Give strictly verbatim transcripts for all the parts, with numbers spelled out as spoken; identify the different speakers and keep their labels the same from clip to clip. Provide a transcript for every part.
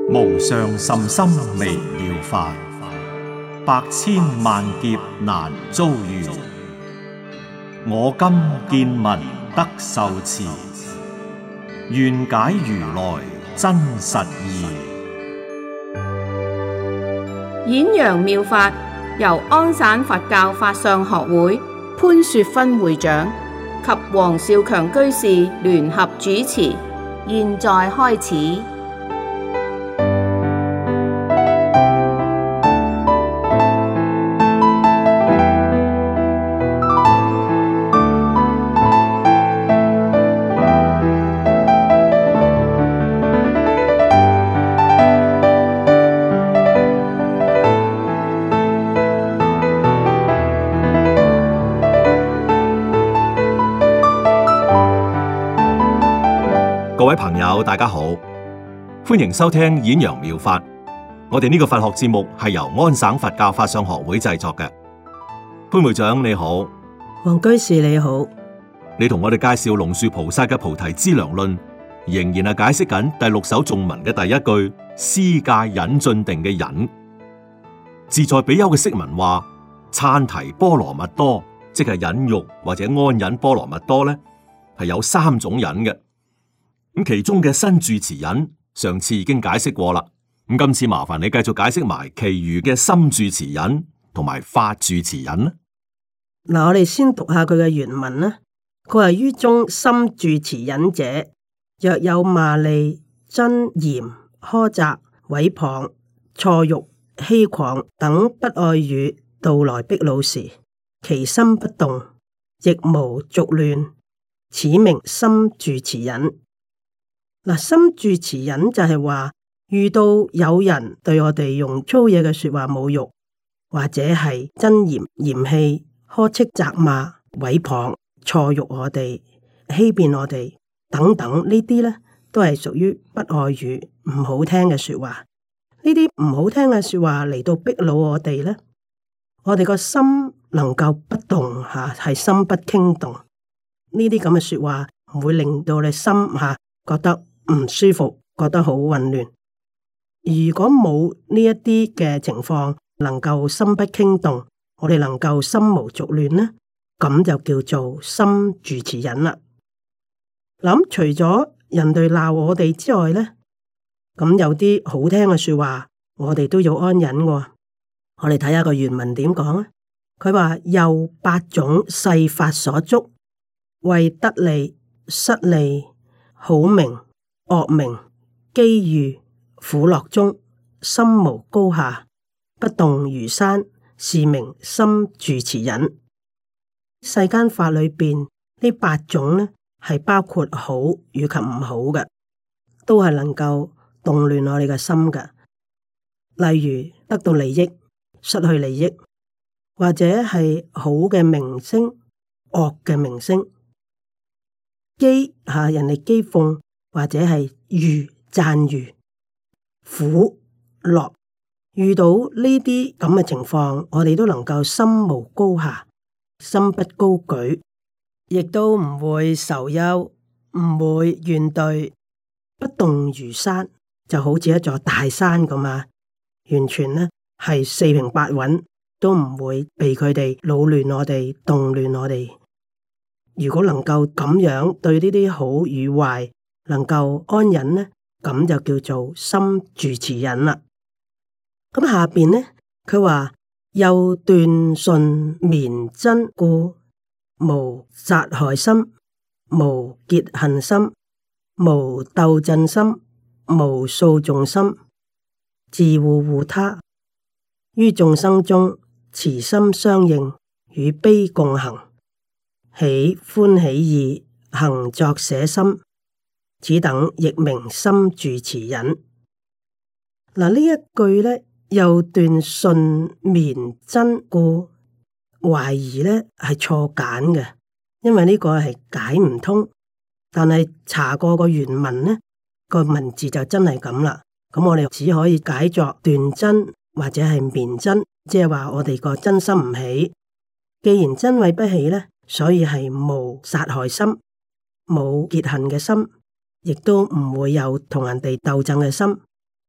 Speaker 1: 無上甚深微妙法，百千萬劫難遭遇。我今見聞得受持，願解如來真實義。
Speaker 2: 演揚妙法由安省佛教法相學會潘雪芬會長及黃少強居士聯合主持，現在開始。
Speaker 3: 各位朋友，大家好，歡迎收聽演揚妙法。我哋呢個佛學節目係由安省佛教法相學會製作嘅。潘會長你好，
Speaker 4: 黃居士你好，
Speaker 3: 你同我哋介紹龍樹菩薩嘅《菩提資糧論》，仍然係解釋緊第六首頌文嘅第一句施戒忍進定嘅忍。自在比丘嘅釋文話，羼提波羅蜜多，即係忍辱或者安忍波羅蜜多咧，係有三種忍嘅。咁其中嘅身住持忍，上次已經解釋過啦。咁今次麻煩你繼續解釋埋其餘嘅心住持忍同埋法住持忍啦。
Speaker 4: 嗱，我哋先讀下佢嘅原文啦。佢話於中心住持忍者，若有罵詈、憎嫌、苛責、毀謗、錯辱、欺誑等不愛語道來逼惱時，其心不動，亦無濁亂，此名心住持忍。嗱，心住持忍就係話，遇到有人對我哋用粗野嘅說話侮辱，或者係憎嫌、嫌棄、呵斥、責罵、毀謗、錯辱我哋、欺騙我哋等等，呢啲咧都係屬於不愛語、唔好聽嘅說話。呢啲唔好聽嘅說話嚟到逼惱我哋咧，我哋個心能夠不動吓，係心不傾動。呢啲咁嘅說話唔會令到你心吓覺得唔舒服，覺得好混亂。如果冇呢一啲嘅情況，能夠心不傾動，我哋能夠心無濁亂呢，咁就叫做心住持忍啦。諗除咗人哋鬧我哋之外呢，咁有啲好聽嘅說話，我哋都要安忍嘅。我哋睇下個原文點講啊？佢話又八種世法所觸，為得利、失利、好名、惡名、機遇、苦樂中，心無高下，不動如山，是名心住持忍。世間法裏邊呢八種呢，係包括好與及唔好嘅，都係能夠動亂我哋嘅心嘅。例如得到利益、失去利益，或者係好嘅名聲、惡嘅名聲，譏吓人哋譏諷，或者係譽讚譽，苦樂，遇到呢啲咁嘅情況，我哋都能夠心無高下，心不高舉，亦都唔會愁憂，唔會怨懟，不動如山，就好似一座大山咁啊！完全呢係四平八穩，都唔會被佢哋擾亂我哋，動亂我哋。如果能夠咁樣對呢啲好與壞，能夠安忍呢，咁就叫做心住持忍啦。咁下邊呢，佢話又斷順綿真故，無殺害心，無結恨心，無鬥爭心，無訴訟心，自護護他，於眾生中慈心相應，與悲共行，喜歡喜意，行作捨心，此等亦名心住持忍。嗱，呢一句咧，又斷順綿真故，懷疑咧係錯簡嘅，因為呢個係解唔通。但係查過個原文呢，個文字就真係咁啦。咁我哋只可以解作斷真或者係綿真，即係話我哋個真心唔起。既然真慧不起咧，所以係無殺害心，冇結恨嘅心，亦都唔會有同人哋鬥爭嘅心，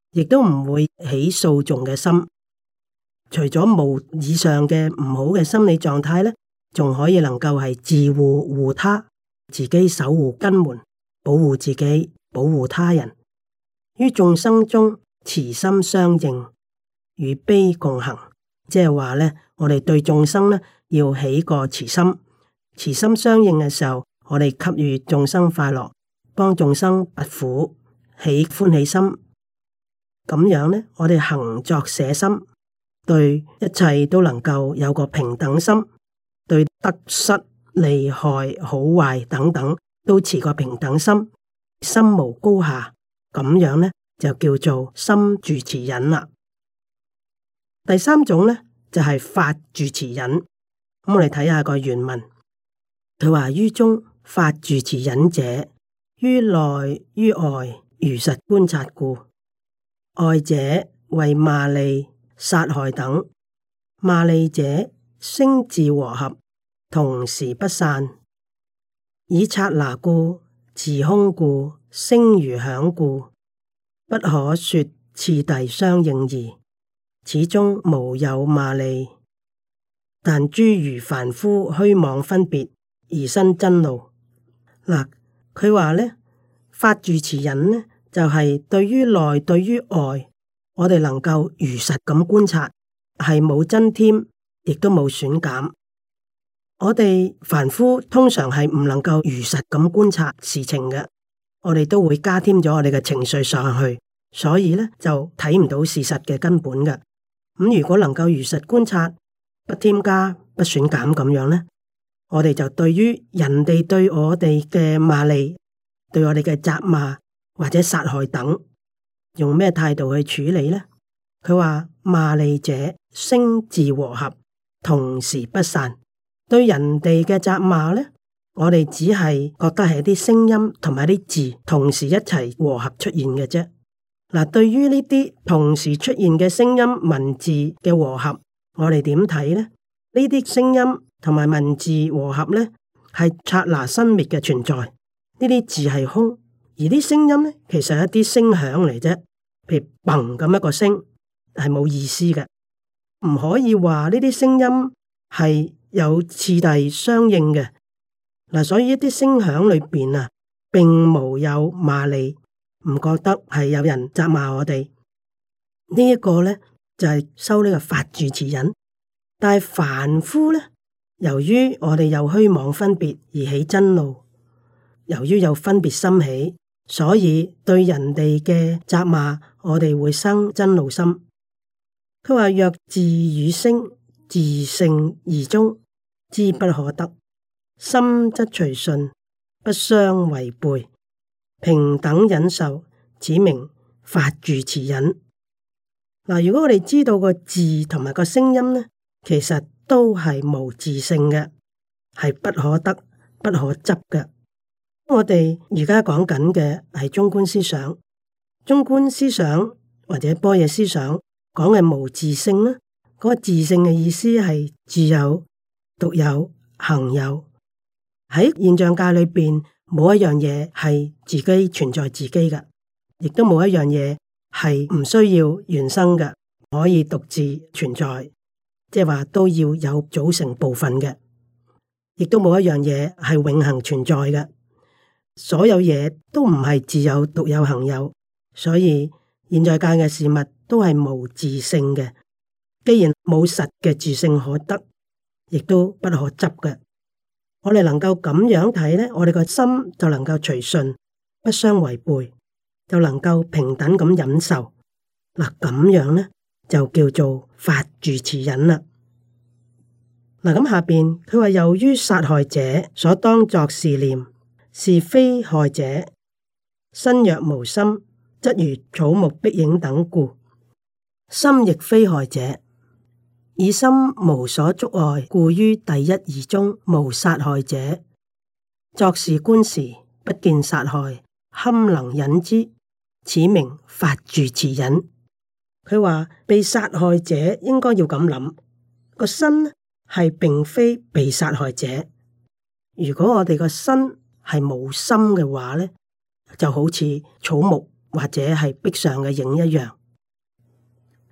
Speaker 4: 亦都唔會起訴訟嘅心。除咗冇以上嘅唔好嘅心理狀態咧，仲可以能夠係自護護他，自己守護根門，保護自己，保護他人。於眾生中慈心相應，與悲共行。即係話咧，我哋對眾生咧要起個慈心，慈心相應嘅時候，我哋給予眾生快樂，幫眾生拔苦，起歡喜心。咁樣咧，我哋行作捨心，對一切都能夠有個平等心，對得失、利害、好壞等等都持個平等心，心無高下。咁樣咧就叫做心住持忍啦。第三種咧就係、是、法住持忍。咁我哋睇下個原文，佢話於中法住持忍者，於內於外如實觀察故。外者為罵詈、殺害等，罵詈者聲自和合，同時不散，以剎那故，持空故，聲如響故，不可說次第相應義，始終無有罵詈。但諸如凡夫虛妄分別而生瞋怒。嗱，佢話咧，法住持忍呢，就係、是、對於內對於外，我哋能夠如實咁觀察，係冇增添，亦都冇損減。我哋凡夫通常係唔能夠如實咁觀察事情嘅，我哋都會加添咗我哋嘅情緒上去，所以咧就睇唔到事實嘅根本嘅。咁如果能夠如實觀察，不添加、不損減咁樣咧，我哋就對於人哋對我哋嘅罵詈、對我哋嘅責罵或者殺害等，用咩態度去處理呢？佢話罵詈者聲自和合，同時不散。對人哋嘅責罵呢，我哋只係覺得係啲聲音同埋啲字同時一齊和合出現嘅啫。嗱，對於呢啲同時出現嘅聲音文字嘅和合，我哋點睇呢？呢啲聲音同埋文字和合呢，係剎那生滅嘅存在。呢啲字係空，而啲聲音呢，其實係一啲聲響嚟啫。譬如嘭咁一個聲，係冇意思嘅，唔可以話呢啲聲音係有次第相應嘅。嗱，所以一啲聲響裏邊啊，並無有罵詈，唔覺得係有人責罵我哋。這個、呢一個咧就係、是、修呢個法住持忍。但係凡夫咧，由於我哋有虛妄分別而起瞋怒，由於有分別心起，所以對人哋嘅責罵，我哋會生瞋怒心。佢話若自與聲自性而中，知不可得，心則隨順，不相違背，平等忍受，此名法住持忍。嗱，如果我哋知道個字同埋個聲音呢，其實都係無自性嘅，係不可得、不可執嘅。我哋而家講緊嘅係中觀思想，中觀思想或者般若思想講嘅無自性呢，嗰個自性嘅意思係自有、獨有、恆有。喺現象界裏邊，冇一樣嘢係自己存在自己嘅，亦都冇一樣嘢係唔需要原生嘅，可以獨自存在，即係話都要有組成部分嘅，亦都冇一樣嘢係永恆存在嘅。所有嘢都唔係自有、獨有、恆有，所以現在界嘅事物都係無自性嘅。既然冇實嘅自性可得，亦都不可執嘅。我哋能夠咁樣睇咧，我哋個心就能夠隨順，不相違背，就能夠平等咁忍受。嗱，咁樣咧就叫做法住持忍啦。嗱，咁下邊佢話由於殺害者所當作是念，是非害者，身若無心，則如草木碧影等故。心亦非害者，以心無所觸礙，故於第一義中無殺害者。作是觀時，不見殺害，堪能忍之，此名法住持忍。佢話被殺害者應該要咁諗，個身係並非被殺害者。如果我哋個身係冇心嘅話咧，就好似草木或者係壁上嘅影一樣，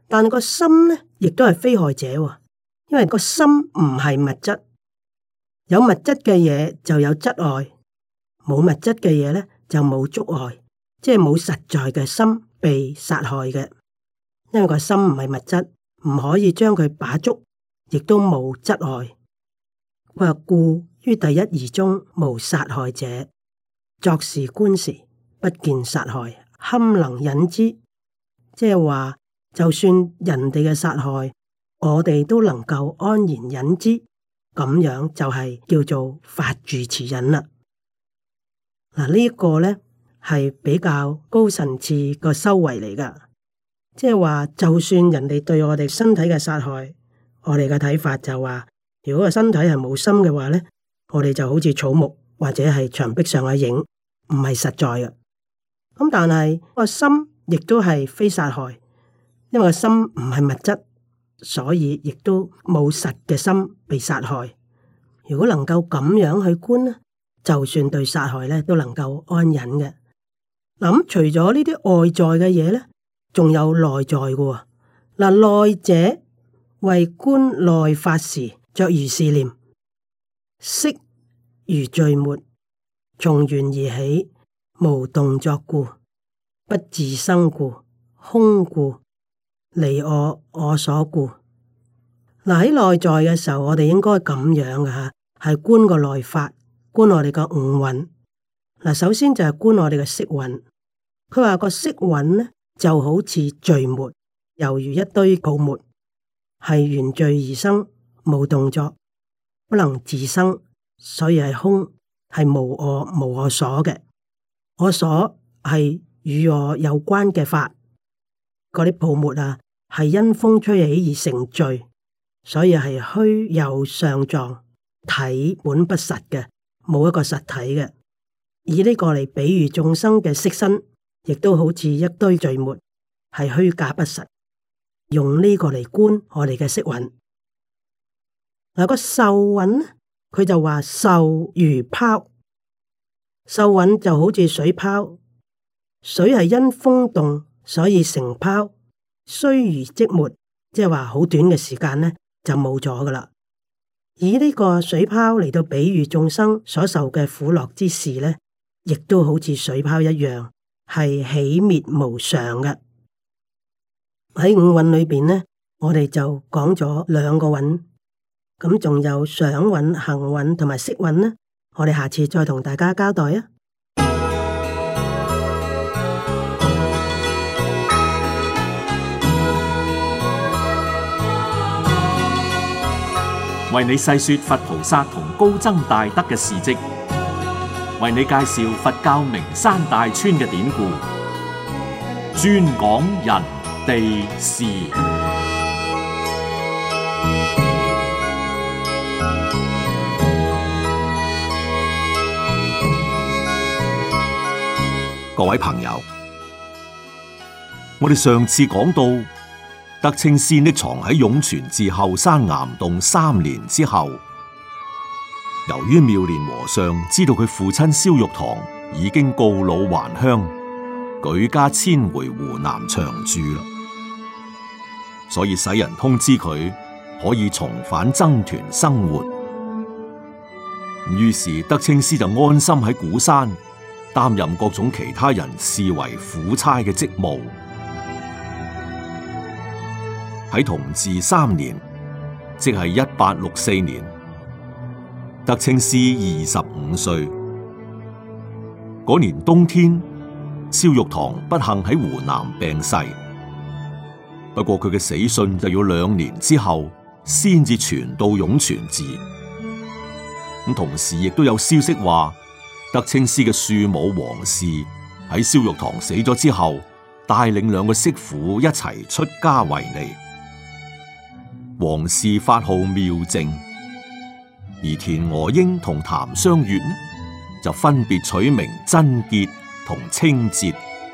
Speaker 4: 但係個心咧，亦都係非害者，因為個心唔係物質，有物質嘅嘢就有質礙，冇物質嘅嘢咧就冇觸礙，即係冇實在嘅心被殺害嘅。因為個心唔係物質，唔可以將佢把捉，亦都冇質礙。佢話故於第一義中無殺害者，作事觀時不見殺害，堪能忍之。即係話，就算人哋嘅殺害，我哋都能夠安然忍之，咁樣就係叫做法住持忍啦。嗱，呢一個咧係比較高層次個修為嚟噶。即係話，就算人哋對我哋身體嘅殺害，我哋嘅睇法就話，如果個身體係冇心嘅話咧，我哋就好似草木或者係牆壁上嘅影，唔係實在嘅。咁但係個心亦都係非殺害，因為個心唔係物質，所以亦都冇實嘅心被殺害。如果能夠咁樣去觀咧，就算對殺害咧都能夠安忍嘅。嗱，咁除咗呢啲外在嘅嘢咧，仲有內在嘅喎。嗱，內者為觀內法時，作如是念：色如聚沫，從緣而起，無動作故，不自生故，空故，離我我所故。嗱，喺內在嘅時候，我哋應該咁樣嘅吓，係觀個內法，觀我哋個五蘊。嗱，首先就係觀我哋嘅色蘊。佢話個色蘊咧，就好似聚沫，猶如一堆泡沫，係緣聚而生，冇動作，不能自生，所以係空，係無我無我所嘅。我所係與我有關嘅法，嗰啲泡沫啊，係因風吹起而成聚，所以係虛有相狀，體本不實嘅，冇一個實體嘅。以呢個嚟比喻眾生嘅色身，亦都好似一堆聚沫，係虛假不實。用呢個嚟觀我哋嘅色蘊。嗱，個受蘊呢，佢就話受如泡，受蘊就好似水泡，水係因風動所以成泡，雖如即沒，即係話好短嘅時間呢就冇咗噶啦。以呢個水泡嚟到比喻眾生所受嘅苦樂之事呢，亦都好似水泡一樣，係起滅無常嘅。喺五蘊裏邊呢，我哋就講咗兩個蘊，咁仲有想蘊、行蘊同埋識蘊呢，我哋下次再同大家交代啊。
Speaker 1: 為你細說佛菩薩同高僧大德嘅事跡，為你介紹佛教名山大川嘅典故，專講人地事。
Speaker 3: 各位朋友，我哋上次講到，德清師匿藏喺湧泉寺後山岩洞三年之後，由於妙蓮和尚知道佢父親蕭玉堂已經告老還鄉，舉家遷回湖南長住啦，所以使人通知佢可以重返僧團生活。於是德清師就安心喺鼓山擔任各種其他人視為苦差嘅職務。喺同治三年，即係一八六四年，德清師二十五歲。嗰年冬天，蕭玉堂不幸喺湖南病逝。不過佢嘅死訊就要兩年之後先至傳到湧泉寺。咁同時亦都有消息話，德清師嘅庶母王氏喺蕭玉堂死咗之後，帶領兩個媳婦一齊出家為尼。王氏法號妙淨，而田娥英同譚湘月呢，就分別取名真潔同清節。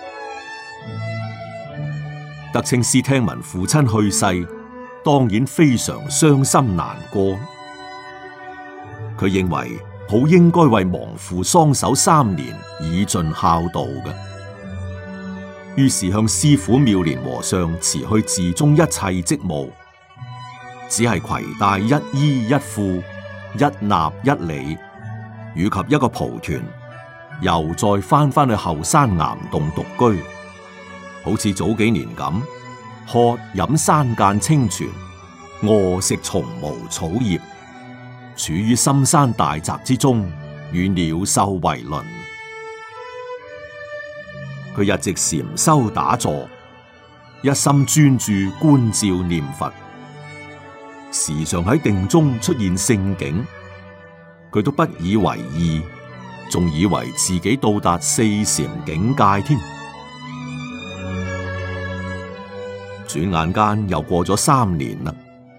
Speaker 3: 德清師聽聞父親去世，當然非常傷心難過。佢認為好應該為亡父喪守三年，以盡孝道嘅。 於是向師父妙蓮和尚辭去寺中一切職務，只係攜帶一衣一褲、一衲一履，以及一個蒲團，又再翻返去後山岩洞獨居，好似早幾年咁，喝飲山澗清泉，餓食蟲毛草葉，處於深山大澤之中，與鳥獸為鄰。佢日直禪修打坐，一心專注觀照念佛，時常喺定中出現聖境，佢都不以為意，仲以為自己到達四禪境界添。轉眼間又過咗三年啦。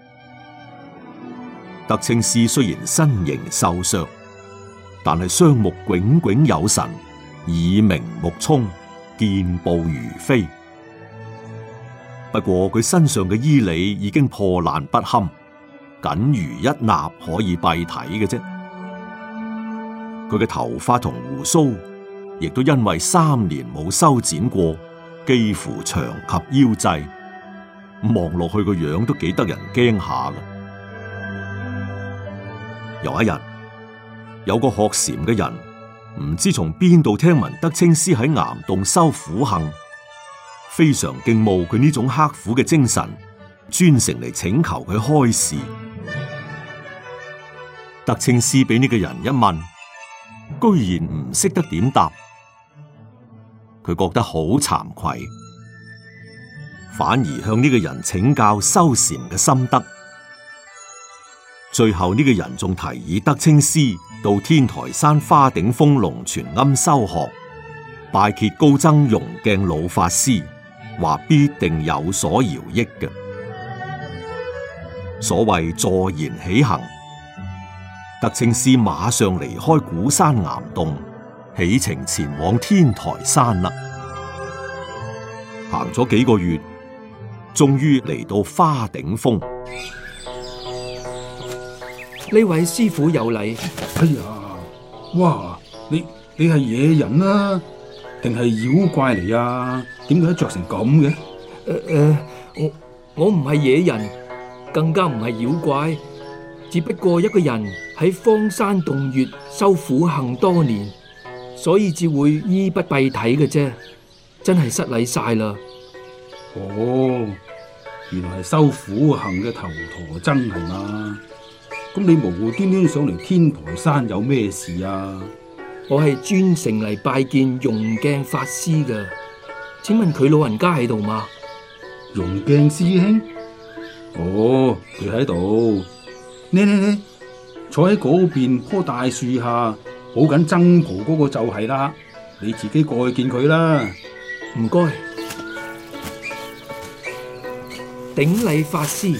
Speaker 3: 德清師雖然身形瘦削，但係雙目炯炯有神，耳明目聰，健步如飛。不過佢身上嘅衣履已經破爛不堪，僅餘一衲可以蔽體嘅啫。佢嘅頭髮同鬍鬚亦都因為三年冇修剪過，幾乎長及腰際，望落去個樣都幾得人驚下㗎。有一日，有個學禪嘅人唔知從邊度聽聞德清師喺岩洞修苦行，非常敬慕佢呢種刻苦嘅精神，專程嚟請求佢開示。德清師俾呢個人一問，居然唔識得點答，佢覺得好慚愧，反而向呢個人請教修禪嘅心得。最後呢個人仲提議德清師到天台山花頂峰龍泉庵修學，拜謁高僧融鏡老法師，話必定有所饒益嘅。所謂坐言起行，德清師馬上離開鼓山岩洞，起程前往天台山啦。行咗幾個月，終於嚟到花頂峰。
Speaker 5: 呢位師父有禮。
Speaker 6: 哎呀，哇！你你係野人啊，定係妖怪嚟啊？點解着成咁嘅？
Speaker 5: 誒誒，我我唔係野人，更加唔係妖怪，只不過一個人喺荒山洞穴修苦行多年，所以至會衣不蔽體嘅啫。真係失禮晒啦。
Speaker 6: 哦，原來係修苦行嘅頭陀僧係嘛？咁你無無端端上嚟天台山有咩事啊？
Speaker 5: 我係專程嚟拜見融鏡法師㗎，請問佢老人家喺度嗎？
Speaker 6: 融鏡師兄？哦，佢喺度。呢呢呢，坐喺嗰邊棵大樹下，抱緊僧袍嗰個就係啦。你自己過去見佢啦。
Speaker 5: 唔該。頂禮法師。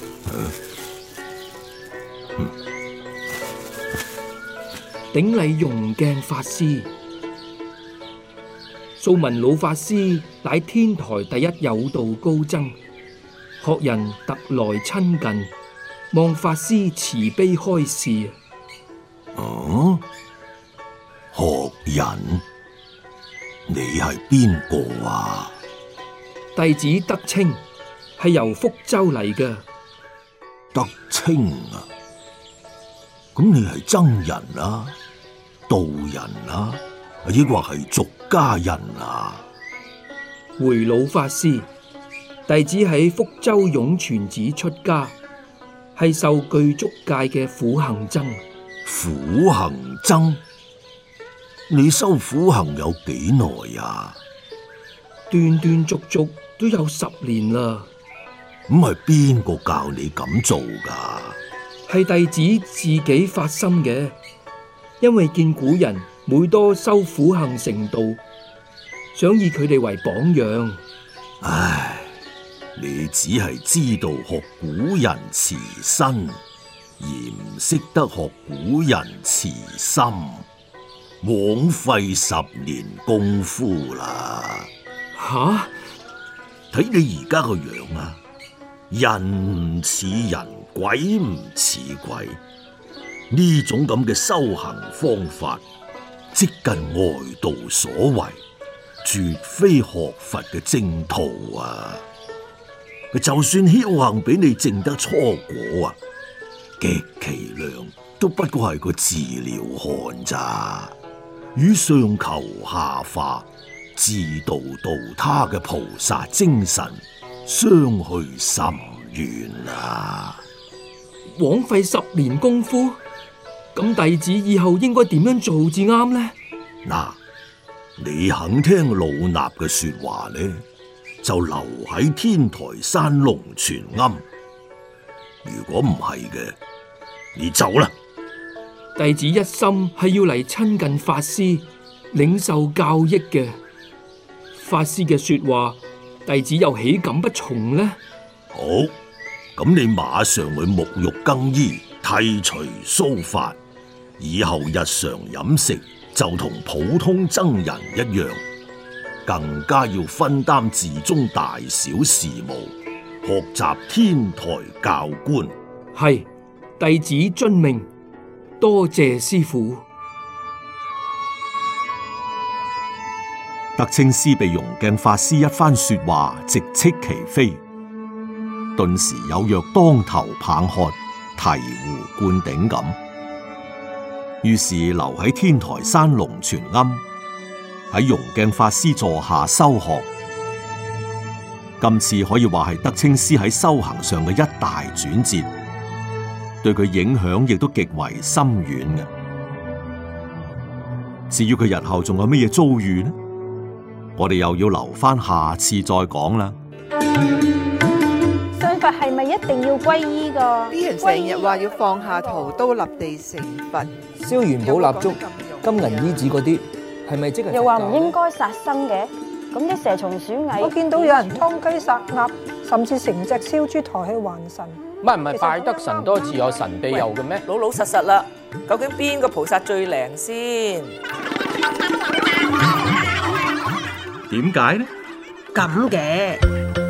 Speaker 5: 頂禮融鏡法師。素聞老法師乃天台第一有道高僧，學人特來親近，望法師慈悲開示。
Speaker 3: 哦，學人，你係邊個啊？
Speaker 5: 弟子德清，係由福州嚟嘅。
Speaker 3: 德清啊，咁你係僧人啊？道人啊，抑或係俗家人啊？
Speaker 5: 回老法師，弟子喺福州湧泉寺出家，係受具足戒嘅苦行僧。
Speaker 3: 苦行僧？你修苦行有幾耐啊？
Speaker 5: 斷斷續續都有十年啦。
Speaker 3: 咁係邊個教你咁做噶？
Speaker 5: 係弟子自己發心嘅。因為見古人每多修苦行成道，想以佢哋為榜樣。
Speaker 3: 唉，你只係知道學古人慈身，而唔識得學古人慈心，枉費十年功夫啦。
Speaker 5: 吓？
Speaker 3: 睇你而家個樣啊，人唔似人，鬼唔似鬼。呢種咁嘅修行方法，即近外道所為，
Speaker 7: 絕非學佛嘅正途啊！佢就算僥倖俾你證得初果啊，極其量都不過係個自了漢咋，與上求下化、自度度他嘅菩薩精神相去甚遠啊！
Speaker 5: 枉費十年功夫，咁弟子以後應該點樣做至啱呢？
Speaker 7: 嗱，你肯聽老衲嘅說話呢，就留喺天台山龍泉庵；如果唔係嘅，你走啦。
Speaker 5: 弟子一心係要嚟親近法師，領受教益嘅。法師嘅說話，弟子又豈敢不從呢？
Speaker 7: 好。咁你馬上去沐浴更衣，剃除鬚髮，以後日常飲食就同普通僧人一樣，更加要分擔寺中大小事務，學習天台教觀。
Speaker 5: 係，弟子遵命，多謝師父。
Speaker 3: 德清師被融鏡法師一番說話直斥其非，頓時有若當頭棒喝、醍醐灌頂咁，於是留喺天台山龍泉庵，喺融鏡法師座下修學。今次可以話係德清師喺修行上嘅一大轉折，對佢影響亦都極為深遠嘅。至於佢日後仲有乜嘢遭遇呢？我哋又要留翻下，下次再講啦。
Speaker 8: 信佛係咪一定要皈依㗎？
Speaker 9: 啲人成日話要放下屠刀立地成佛，
Speaker 10: 燒元寶蠟燭、金銀衣紙嗰啲，係咪即係？
Speaker 8: 又話唔應該殺生嘅，咁啲蛇蟲鼠蟻，
Speaker 11: 我見到有人劏雞殺鴨，甚至成隻燒豬抬去還神。
Speaker 10: 唔係唔係，拜得神多自有神庇佑嘅咩？
Speaker 9: 老老實實啦，究竟邊個菩薩最靈先？
Speaker 3: 點解呢？
Speaker 4: 咁嘅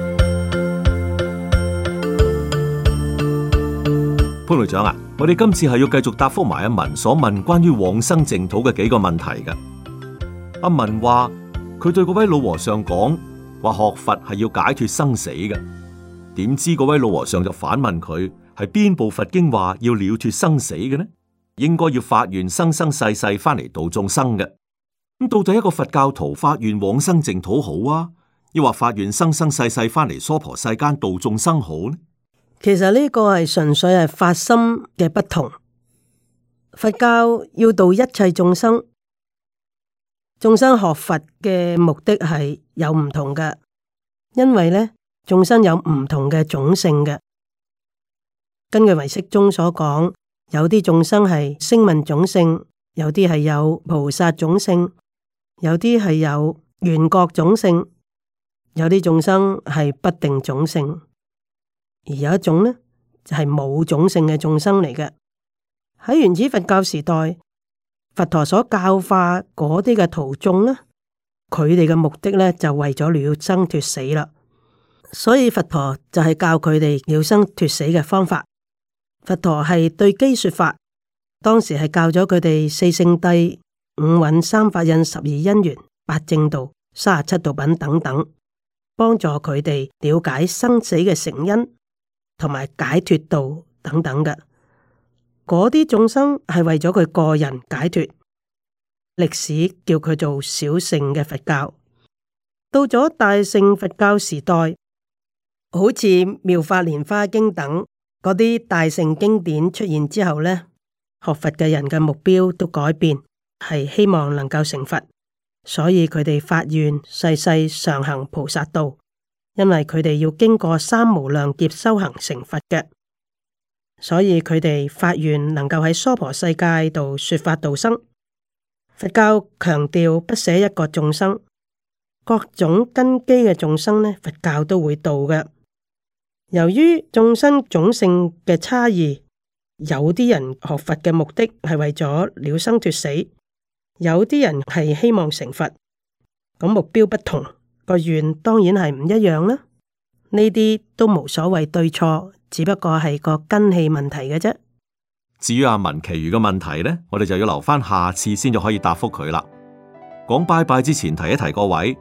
Speaker 3: 潘會長啊，我哋今次係要繼續答覆埋阿文所問關於往生淨土嘅幾個問題嘅。阿文話佢對嗰位老和尚講話學佛係要解脫生死嘅，點知嗰位老和尚就反問佢係邊部佛經話要了脫生死嘅呢？應該要發願生生世世翻嚟度眾生嘅。咁到底一個佛教徒發願往生淨土好啊，抑或發願生生世世翻嚟娑婆世間度眾生好呢？
Speaker 4: 其實呢個係純粹係發心嘅不同。佛教要度一切眾生，眾生學佛嘅目的係有唔同嘅，因為呢眾生有唔同嘅種性嘅。根據唯識中所講，有啲眾生係聲聞種性，有啲係有菩薩種性，有啲係有緣覺種性，有啲眾生係不定種性，而有一種呢就係冇種性嘅眾生嚟嘅。喺原始佛教時代，佛陀所教化嗰啲嘅徒眾呢，佢哋嘅目的呢就為咗了生脫死啦，所以佛陀就係教佢哋了生脫死嘅方法。佛陀係對機說法，當時係教咗佢哋四聖諦、五蘊、三法印、十二因緣、八正道、三十七道品等等，幫助佢哋了解生死嘅成因，同埋解脫道等等嘅。嗰啲眾生係為咗佢個人解脫，歷史叫佢做小乘嘅佛教。到咗大乘佛教時代，好似《妙法蓮華經》等嗰啲大乘經典出現之後呢，學佛嘅人嘅目標都改變，係希望能夠成佛，所以佢哋發願世世常行菩薩道，因為佢哋要經過三無量劫修行成佛嘅，所以佢哋發願能夠喺娑婆世界度說法度生。佛教強調不捨一個眾生，各種根基嘅眾生呢，佛教都會度嘅。由於眾生種性嘅差異，有啲人學佛嘅目的係為咗了生脫死，有啲人係希望成佛，咁目標不同，個願當然係唔一樣啦。呢啲都無所謂對錯，只不過係個根器問題嘅啫。
Speaker 3: 至於阿文其餘嘅問題呢，我哋就要留翻下次先至可以答覆佢啦。講拜拜之前提一提各位，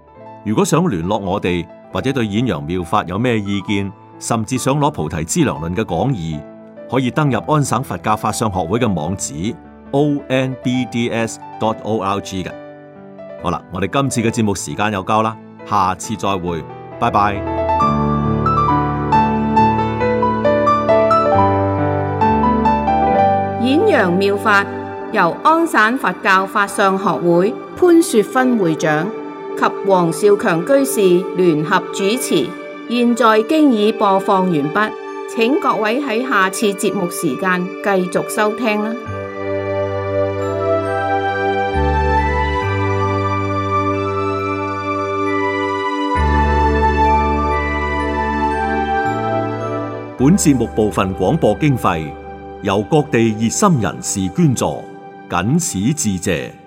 Speaker 3: 如果想聯絡我哋，或者對演揚妙法有咩意見，甚至想攞菩提資糧論嘅講義，可以登入安省佛教法相學會嘅網址 o n b d s dot org 嘅。好啦，我哋今次嘅節目時間又夠啦，下次再會，拜拜。
Speaker 2: 演揚妙法由安省佛教法相學會潘雪芬會長及黃少強居士聯合主持，現在經已播放完畢，請各位喺下次節目時間繼續收聽啦。
Speaker 3: 本節目部分廣播經費由各地熱心人士捐助，謹此致謝。